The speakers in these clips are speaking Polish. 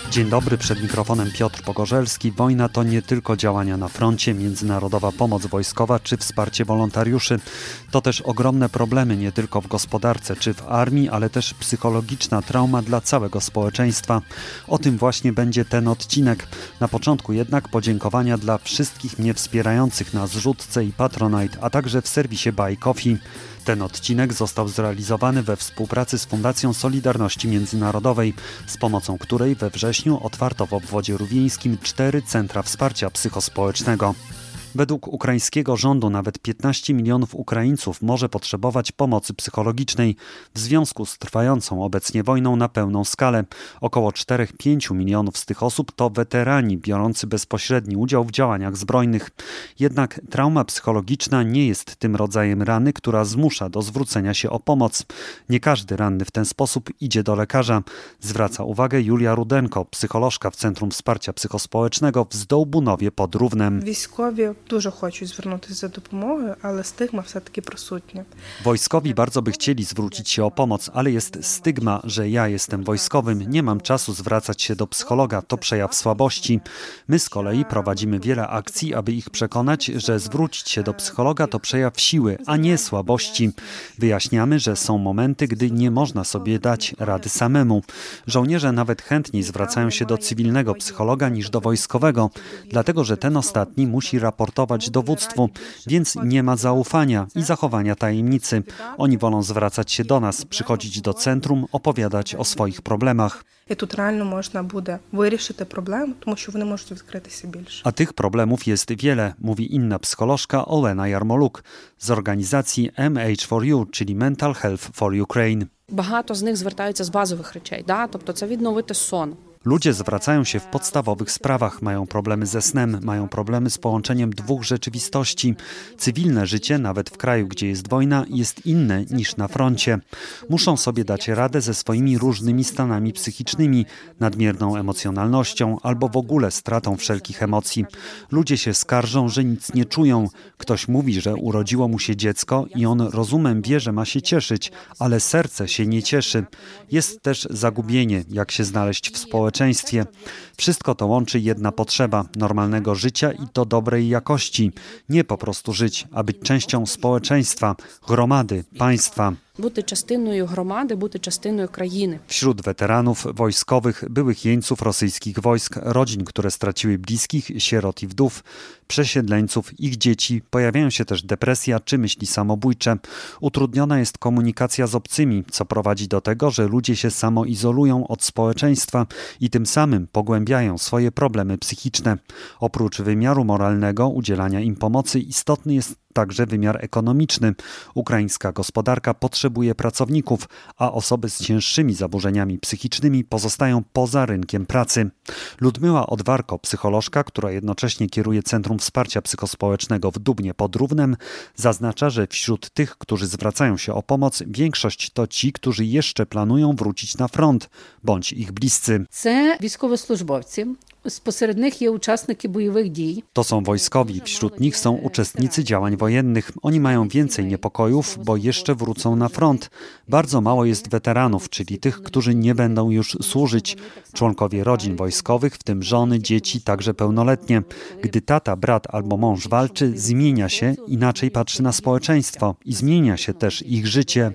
Dzień dobry, przed mikrofonem Piotr Pogorzelski. Wojna to nie tylko działania na froncie, międzynarodowa pomoc wojskowa czy wsparcie wolontariuszy. To też ogromne problemy nie tylko w gospodarce czy w armii, ale też psychologiczna trauma dla całego społeczeństwa. O tym właśnie będzie ten odcinek. Na początku jednak podziękowania dla wszystkich mnie wspierających na Zrzutce i Patronite, a także w serwisie Buy Coffee. Ten odcinek został zrealizowany we współpracy z Fundacją Solidarności Międzynarodowej, z pomocą której we wrześniu otwarto w obwodzie rówieńskim 4 centra wsparcia psychospołecznego. Według ukraińskiego rządu nawet 15 milionów Ukraińców może potrzebować pomocy psychologicznej w związku z trwającą obecnie wojną na pełną skalę. Około 4-5 milionów z tych osób to weterani biorący bezpośredni udział w działaniach zbrojnych. Jednak trauma psychologiczna nie jest tym rodzajem rany, która zmusza do zwrócenia się o pomoc. Nie każdy ranny w ten sposób idzie do lekarza. Zwraca uwagę Julia Rudenko, psycholożka w Centrum Wsparcia Psychospołecznego w Zdolbunowie pod Równem. Дуже хочуть звернутися за допомогою, але стигма все-таки присутня. Wojskowi bardzo by chcieli zwrócić się o pomoc, ale jest stygma, że ja jestem wojskowym, nie mam czasu zwracać się do psychologa, to przejaw słabości. My z kolei prowadzimy wiele akcji, aby ich przekonać, że zwrócić się do psychologa to przejaw siły, a nie słabości. Wyjaśniamy, że są momenty, gdy nie można sobie dać rady samemu. Żołnierze nawet chętniej zwracają się do cywilnego psychologa niż do wojskowego, dlatego że ten ostatni musi raportować dowództwu, więc nie ma zaufania i zachowania tajemnicy. Oni wolą zwracać się do nas, przychodzić do centrum, opowiadać o swoich problemach. І тут реально можна буде вирішити проблему, тому що вони можуть відкритися більше. A tych problemów jest wiele, mówi inna psycholożka Olena Jarmoluk z organizacji MH4U, czyli Mental Health for Ukraine. Багато з них звертаються з базових речей, тобто це відновити сон. Ludzie zwracają się w podstawowych sprawach, mają problemy ze snem, mają problemy z połączeniem dwóch rzeczywistości. Cywilne życie, nawet w kraju, gdzie jest wojna, jest inne niż na froncie. Muszą sobie dać radę ze swoimi różnymi stanami psychicznymi, nadmierną emocjonalnością albo w ogóle stratą wszelkich emocji. Ludzie się skarżą, że nic nie czują. Ktoś mówi, że urodziło mu się dziecko i on rozumem wie, że ma się cieszyć, ale serce się nie cieszy. Jest też zagubienie, jak się znaleźć w społeczeństwie. Wszystko to łączy jedna potrzeba normalnego życia i to dobrej jakości. Nie po prostu żyć, a być częścią społeczeństwa, gromady, państwa. Бути частиною громади, бути частиною країни. Wśród weteranów wojskowych, byłych jeńców rosyjskich wojsk, rodzin, które straciły bliskich, sierot i wdów, przesiedleńców, ich dzieci, pojawiają się też depresja czy myśli samobójcze. Utrudniona jest komunikacja z obcymi, co prowadzi do tego, że ludzie się samoizolują od społeczeństwa i tym samym pogłębiają swoje problemy psychiczne. Oprócz wymiaru moralnego udzielania im pomocy, istotny jest także wymiar ekonomiczny. Ukraińska gospodarka potrzebuje pracowników, a osoby z cięższymi zaburzeniami psychicznymi pozostają poza rynkiem pracy. Ludmila Odwarko, psycholożka, która jednocześnie kieruje Centrum Wsparcia Psychospołecznego w Dubnie pod Równem, zaznacza, że wśród tych, którzy zwracają się o pomoc, większość to ci, którzy jeszcze planują wrócić na front, bądź ich bliscy. Це військовослужбовці. Посеред них є учасники бойових дій. To są wojskowi, wśród nich są uczestnicy działań wojennych. Oni mają więcej niepokojów, bo jeszcze wrócą na front. Bardzo mało jest weteranów, czyli tych, którzy nie będą już służyć. Członkowie rodzin wojskowych, w tym żony, dzieci, także pełnoletnie. Gdy tata, brat albo mąż walczy, zmienia się, inaczej patrzy na społeczeństwo i zmienia się też ich życie.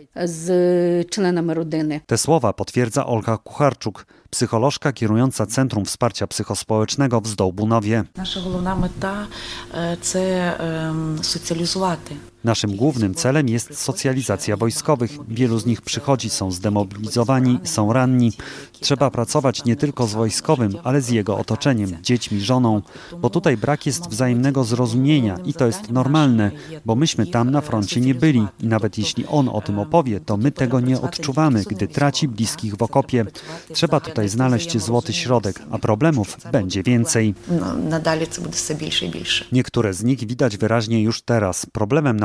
З членами родини. Te słowa potwierdza Olga Kucharczuk, psycholożka kierująca Centrum Wsparcia Psychospołecznego w Zdolbunowie. Наша головна мета – це соціалізувати. Naszym głównym celem jest socjalizacja wojskowych. Wielu z nich przychodzi, są zdemobilizowani, są ranni. Trzeba pracować nie tylko z wojskowym, ale z jego otoczeniem, dziećmi, żoną, bo tutaj brak jest wzajemnego zrozumienia i to jest normalne, bo myśmy tam na froncie nie byli i nawet jeśli on o tym opowie, to my tego nie odczuwamy, gdy traci bliskich w okopie. Trzeba tutaj znaleźć złoty środek, a problemów będzie więcej. Надалі це буде все більше і більше. Niektóre z nich widać wyraźnie już teraz. Problemem na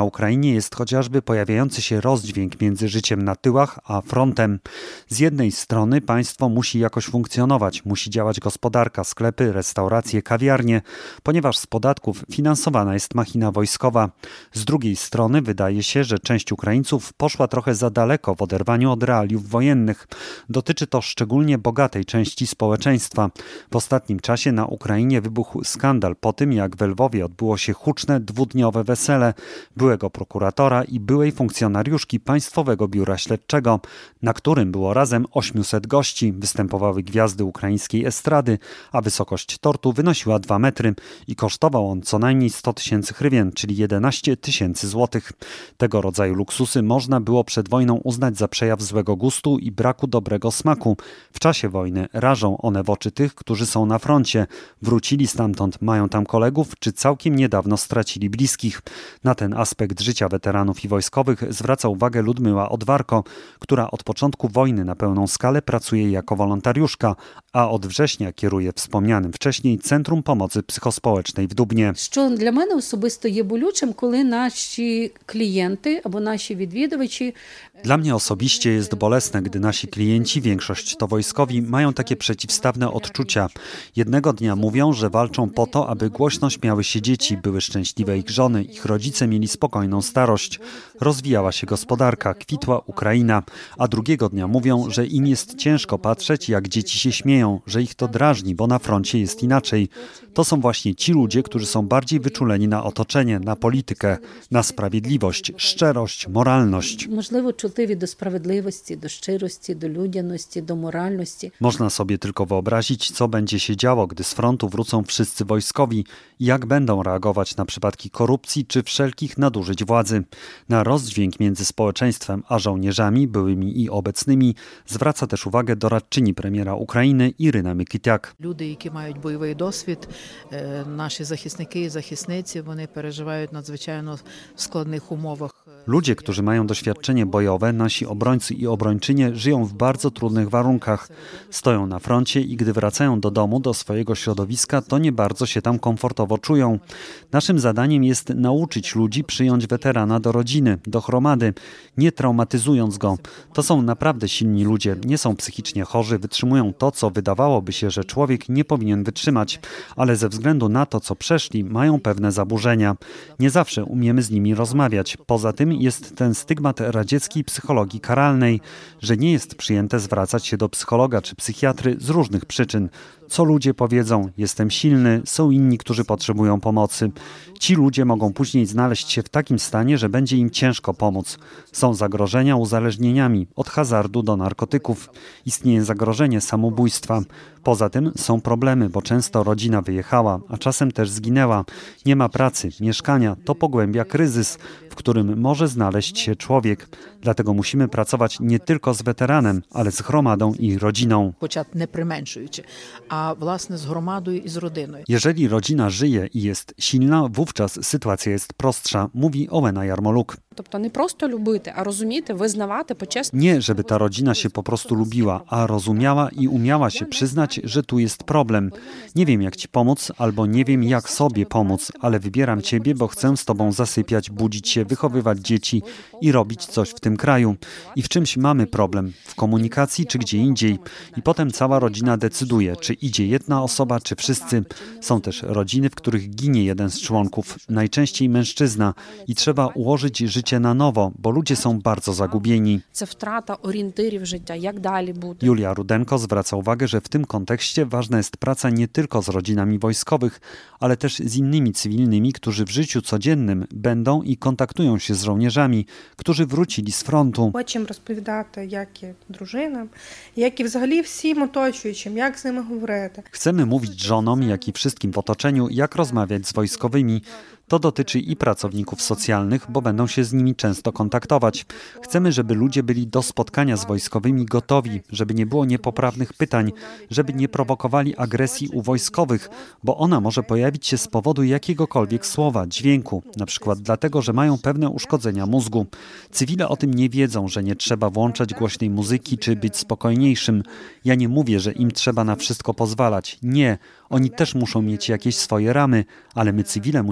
Ukrainie jest chociażby pojawiający się rozdźwięk między życiem na tyłach a frontem. Z jednej strony państwo musi jakoś funkcjonować, musi działać gospodarka, sklepy, restauracje, kawiarnie, ponieważ z podatków finansowana jest machina wojskowa. Z drugiej strony wydaje się, że część Ukraińców poszła trochę za daleko w oderwaniu od realiów wojennych. Dotyczy to szczególnie bogatej części społeczeństwa. W ostatnim czasie na Ukrainie wybuchł skandal po tym, jak w Lwowie odbyło się huczne dwudniowe wesele byłego prokuratora i byłej funkcjonariuszki Państwowego Biura Śledczego, na którym było razem 800 gości. Występowały gwiazdy ukraińskiej estrady, a wysokość tortu wynosiła 2 metry i kosztował on co najmniej 100 tysięcy hrywien, czyli 11 tysięcy złotych. Tego rodzaju luksusy można było przed wojną uznać za przejaw złego gustu i braku dobrego smaku. W czasie wojny rażą one w oczy tych, którzy są na froncie. Wrócili stamtąd, mają tam kolegów, czy całkiem niedawno stracili bliskich. Na ten aspekt życia weteranów i wojskowych zwraca uwagę Ludmyła Odwarko, która od początku wojny na pełną skalę pracuje jako wolontariuszka, a od września kieruje wspomnianym wcześniej Centrum Pomocy Psychospołecznej w Dubnie. Що для мене особисто є болючим, коли наші клієнти або наші відвідувачі Dla mnie osobiście jest bolesne, gdy nasi klienci, większość to wojskowi, mają takie przeciwstawne odczucia. Jednego dnia mówią, że walczą po to, aby głośno śmiały się dzieci, były szczęśliwe ich żony, ich rodzice mieli spokojną starość. Rozwijała się gospodarka, kwitła Ukraina. A drugiego dnia mówią, że im jest ciężko patrzeć, jak dzieci się śmieją, że ich to drażni, bo na froncie jest inaczej. To są właśnie ci ludzie, którzy są bardziej wyczuleni na otoczenie, na politykę, na sprawiedliwość, szczerość, moralność. можливо чутливі до справедливості, до щирості, до людяності, до моральності. Można sobie tylko wyobrazić, co będzie się działo, gdy z frontu wrócą wszyscy wojskowi i jak będą reagować na przypadki korupcji czy wszelkich nadużyć władzy. Na rozdźwięk między społeczeństwem a żołnierzami, byłymi i obecnymi, zwraca też uwagę doradczyni premiera Ukrainy Iryna Mykitiak. Люди, які мають бойовий досвід, наші захисники і захисниці, вони переживають надзвичайно складних умовах. Ludzie, którzy mają doświadczenie bojowe, nasi obrońcy i obrończynie żyją w bardzo trudnych warunkach. Stoją na froncie i gdy wracają do domu, do swojego środowiska, to nie bardzo się tam komfortowo czują. Naszym zadaniem jest nauczyć ludzi przyjąć weterana do rodziny, do chromady, nie traumatyzując go. To są naprawdę silni ludzie, nie są psychicznie chorzy, wytrzymują to, co wydawałoby się, że człowiek nie powinien wytrzymać, ale ze względu na to, co przeszli, mają pewne zaburzenia. Nie zawsze umiemy z nimi rozmawiać. Poza tym jest ten stygmat radzieckiej psychologii karalnej, że nie jest przyjęte zwracać się do psychologa czy psychiatry z różnych przyczyn. Co ludzie powiedzą, jestem silny, są inni, którzy potrzebują pomocy. Ci ludzie mogą później znaleźć się w takim stanie, że będzie im ciężko pomóc. Są zagrożenia uzależnieniami, od hazardu do narkotyków. Istnieje zagrożenie samobójstwa. Poza tym są problemy, bo często rodzina wyjechała, a czasem też zginęła. Nie ma pracy, mieszkania, to pogłębia kryzys, w którym może znaleźć się człowiek. Dlatego musimy pracować nie tylko z weteranem, ale z gromadą i rodziną. Хоча не применшуючи, а власне з громадою і з родиною. Jeżeli rodzina żyje i jest silna, wówczas sytuacja jest prostsza, mówi Ołena Jarmoluk. Тобто не просто любити, а розуміти, визнавати, почесно. Nie, żeby ta rodzina się po prostu lubiła, a rozumiała i umiała się przyznać, że tu jest problem. Nie wiem, jak ci pomóc, albo nie wiem, jak sobie pomóc, ale wybieram ciebie, bo chcę z tobą zasypiać, budzić się, wychowywać dzieci i robić coś w tym kraju. I w czymś mamy problem, w komunikacji czy gdzie indziej. I potem cała rodzina decyduje, czy idzie jedna osoba, czy wszyscy. Są też rodziny, w których ginie jeden z członków, najczęściej mężczyzna, i trzeba ułożyć życie na nowo, bo ludzie są bardzo zagubieni. Це втрата орієнтирів життя, як далі бути. Julia Rudenko zwraca uwagę, że w tym kontekście ważna jest praca nie tylko z rodzinami wojskowych, ale też z innymi cywilnymi, którzy w życiu codziennym będą i kontaktują się z żołnierzami, którzy wrócili z frontu. Хочемо розповідати, як і дружинам, як і взагалі всім оточуючим, як з ними говорити. Chcemy mówić żonom, jak i wszystkim w otoczeniu, jak rozmawiać z wojskowymi. To dotyczy i pracowników socjalnych, bo będą się z nimi często kontaktować. Chcemy, żeby ludzie byli do spotkania z wojskowymi gotowi, żeby nie było niepoprawnych pytań, żeby nie prowokowali agresji u wojskowych, bo ona może pojawić się z powodu jakiegokolwiek słowa, dźwięku, na przykład dlatego, że mają pewne uszkodzenia mózgu. Cywile o tym nie wiedzą, że nie trzeba włączać głośnej muzyki czy być spokojniejszym. Ja nie mówię, że im trzeba na wszystko pozwalać. Nie, oni też muszą mieć jakieś swoje ramy, ale my cywile musimy brać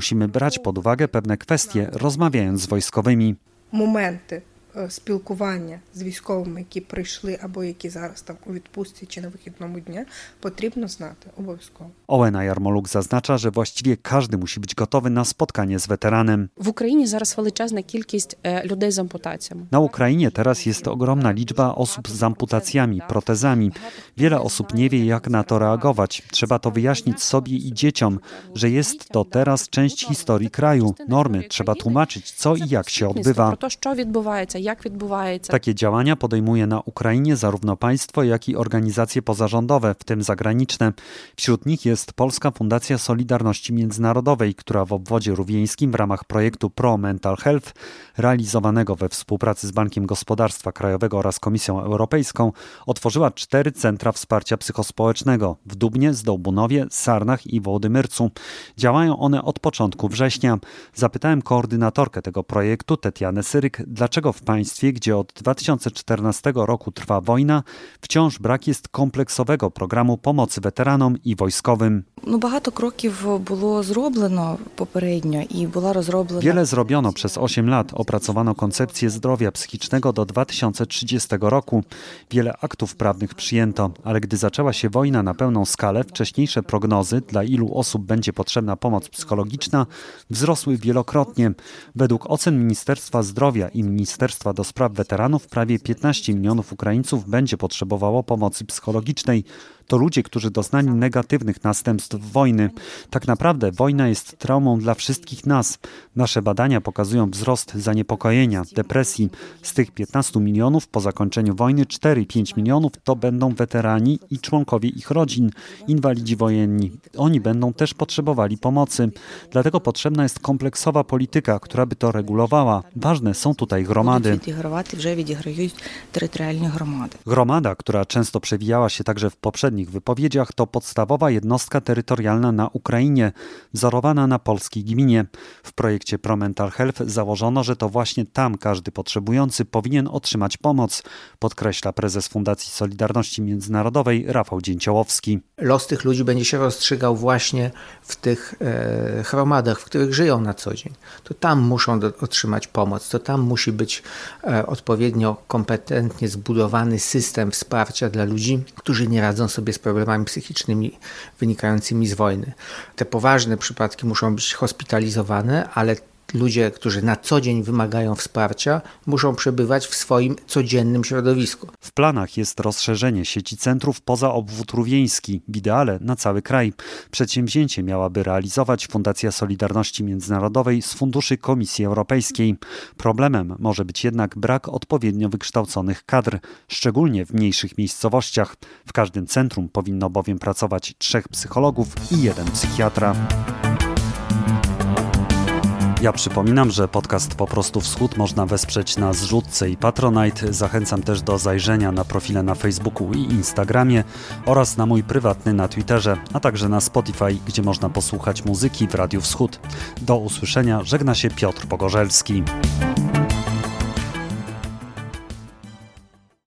brać pod uwagę pewne kwestie, rozmawiając z wojskowymi. Моменти спілкування з військовими, які прийшли або які зараз там у відпустці чи на вихідному дні, потрібно знати обов'язково. Ołena Jarmoluk zaznacza, że właściwie każdy musi być gotowy na spotkanie z weteranem. В Україні зараз величезна кількість людей з ампутаціями. Na Ukrainie teraz jest ogromna liczba osób z amputacjami, protezami. Wiele osób nie wie, jak na to reagować. Trzeba to wyjaśnić sobie i dzieciom, że jest to teraz część historii kraju, normy. Trzeba tłumaczyć, co i jak się odbywa. Про те, що відбувається, як відбувається. Takie działania podejmuje na Ukrainie zarówno państwo, jak i organizacje pozarządowe, w tym zagraniczne. Wśród nich jest Polska Fundacja Solidarności Międzynarodowej, która w obwodzie rówieńskim w ramach projektu Pro Mental Health, realizowanego we współpracy z Bankiem Gospodarstwa Krajowego oraz Komisją Europejską, otworzyła 4 centra wsparcia psychospołecznego w Dubnie, Zdołbunowie, Sarnach i Wołodymyrcu. Działają one od początku września. Zapytałem koordynatorkę tego projektu, Tetianę Syryk, dlaczego w państwie, gdzie od 2014 roku trwa wojna, wciąż brak jest kompleksowego programu pomocy weteranom i wojskowym. Багато кроків було зроблено попередньо і була розроблена. Wiele zrobiono przez 8 lat. Opracowano koncepcję zdrowia psychicznego do 2030 roku. Wiele aktów prawnych przyjęto, ale gdy zaczęła się wojna na pełną skalę, wcześniejsze prognozy, dla ilu osób będzie potrzebna pomoc psychologiczna, wzrosły wielokrotnie. Według ocen Ministerstwa Zdrowia i Ministerstwa do Spraw Weteranów prawie 15 milionów Ukraińców będzie potrzebowało pomocy psychologicznej. To ludzie, którzy doznali negatywnych następstw wojny. Tak naprawdę wojna jest traumą dla wszystkich nas. Nasze badania pokazują wzrost zaniepokojenia, depresji. Z tych 15 milionów po zakończeniu wojny 4-5 milionów to będą weterani i członkowie ich rodzin, inwalidzi wojenni. Oni będą też potrzebowali pomocy. Dlatego potrzebna jest kompleksowa polityka, która by to regulowała. Ważne są tutaj gromady. Gromada, która często przewijała się także w poprzednich wypowiedziach, to podstawowa jednostka terytorialna na Ukrainie, wzorowana na polskiej gminie. W projekcie Pro Mental Health założono, że to właśnie tam każdy potrzebujący powinien otrzymać pomoc, podkreśla prezes Fundacji Solidarności Międzynarodowej Rafał Dzięciołowski. Los tych ludzi będzie się rozstrzygał właśnie w tych gromadach, w których żyją na co dzień. To tam muszą otrzymać pomoc, to tam musi być odpowiednio kompetentnie zbudowany system wsparcia dla ludzi, którzy nie radzą sobie z problemami psychicznymi wynikającymi z wojny. Te poważne przypadki muszą być hospitalizowane, ale ludzie, którzy na co dzień wymagają wsparcia, muszą przebywać w swoim codziennym środowisku. W planach jest rozszerzenie sieci centrów poza obwód rówieński, w ideale na cały kraj. Przedsięwzięcie miałaby realizować Fundacja Solidarności Międzynarodowej z funduszy Komisji Europejskiej. Problemem może być jednak brak odpowiednio wykształconych kadr, szczególnie w mniejszych miejscowościach. W każdym centrum powinno bowiem pracować 3 psychologów i 1 psychiatra. Ja przypominam, że podcast Po prostu Wschód można wesprzeć na Zrzutce i Patronite. Zachęcam też do zajrzenia na profile na Facebooku i Instagramie oraz na mój prywatny na Twitterze, a także na Spotify, gdzie można posłuchać muzyki w Radiu Wschód. Do usłyszenia, żegna się Piotr Pogorzelski.